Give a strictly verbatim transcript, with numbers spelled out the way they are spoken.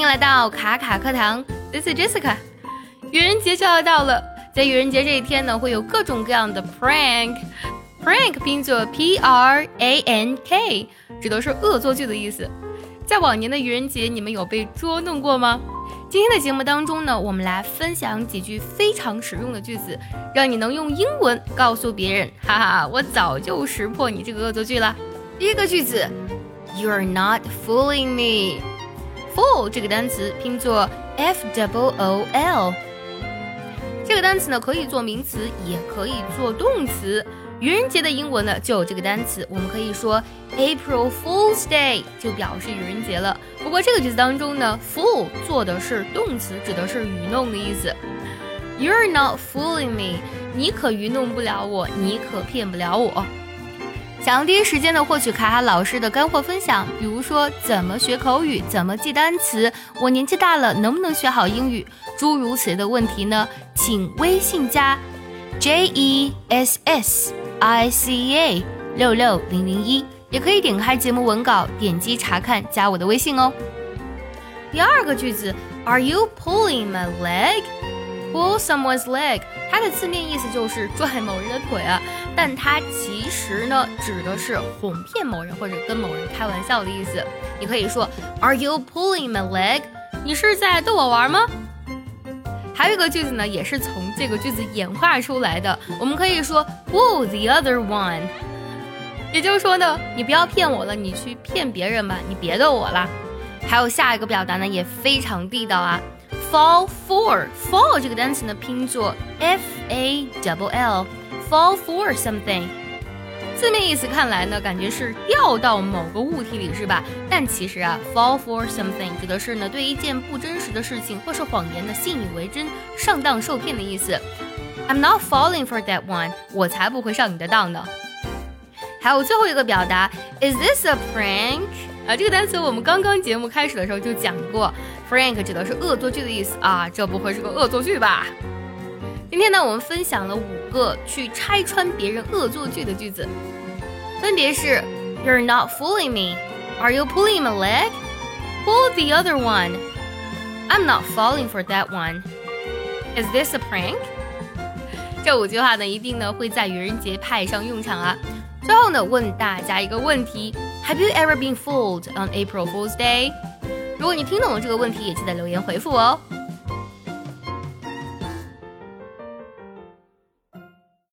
迎来到卡卡课堂 ，This is Jessica。愚人节就要到了，在愚人节这一天呢，会有各种各样的 prank。prank 拼作 P R A N K， 指的是恶作剧的意思。在往年的愚人节，你们有被捉弄过吗？今天的节目当中呢，我们来分享几句非常实用的句子，让你能用英文告诉别人，哈哈，我早就识破你这个恶作剧了。第一个句子 ，You're not fooling me。fool 这个单词拼作 F O O L， 这个单词呢可以做名词，也可以做动词。愚人节的英文呢就有这个单词，我们可以说 April Fool's Day 就表示愚人节了。不过这个句子当中呢 fool 做的是动词，指的是愚弄的意思。You're not fooling me， 你可愚弄不了我，你可骗不了我。想要第一时间的获取卡卡老师的干货分享，比如说怎么学口语，怎么记单词，我年纪大了能不能学好英语，诸如此类的问题呢，请微信加 J E S S I C A 六六零零一，也可以点开节目文稿，点击查看，加我的微信哦。第二个句子 Are you pulling my leg?Pull someone's leg， 它的字面意思就是拽某人的腿啊，但它其实呢指的是哄骗某人或者跟某人开玩笑的意思。你可以说 Are you pulling my leg？ 你是在逗我玩吗？还有一个句子呢，也是从这个句子演化出来的，我们可以说 Pull the other one， 也就是说呢，你不要骗我了，你去骗别人吧，你别逗我了。还有下一个表达呢，也非常地道啊。Fall for fall 这个单词呢拼作 F A L L fall for something， 字面意思看来呢感觉是掉到某个物体里是吧？但其实啊 fall for something 指的是呢对一件不真实的事情或是谎言的信以为真，上当受骗的意思。I'm not falling for that one， 我才不会上你的当呢。还有最后一个表达 Is this a prank？啊，这个单词我们刚刚节目开始的时候就讲过 ，prank 指的是恶作剧的意思啊，这不会是个恶作剧吧？今天呢，我们分享了五个去拆穿别人恶作剧的句子，分别是 You're not fooling me， Are you pulling my leg？ Pull the other one， I'm not falling for that one， Is this a prank？ 这五句话呢，一定呢会在愚人节派上用场啊。最后呢，问大家一个问题 Have you ever been fooled on April Fool's Day？ 如果你听懂了这个问题，也记得留言回复我哦。